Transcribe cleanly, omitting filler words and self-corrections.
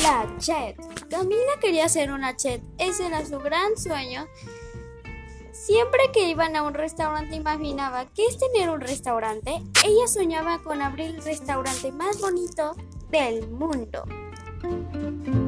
La chef. Camila quería ser una chef, ese era su gran sueño. Siempre que iban a un restaurante imaginaba ¿qué es tener un restaurante? Ella soñaba con abrir el restaurante más bonito del mundo.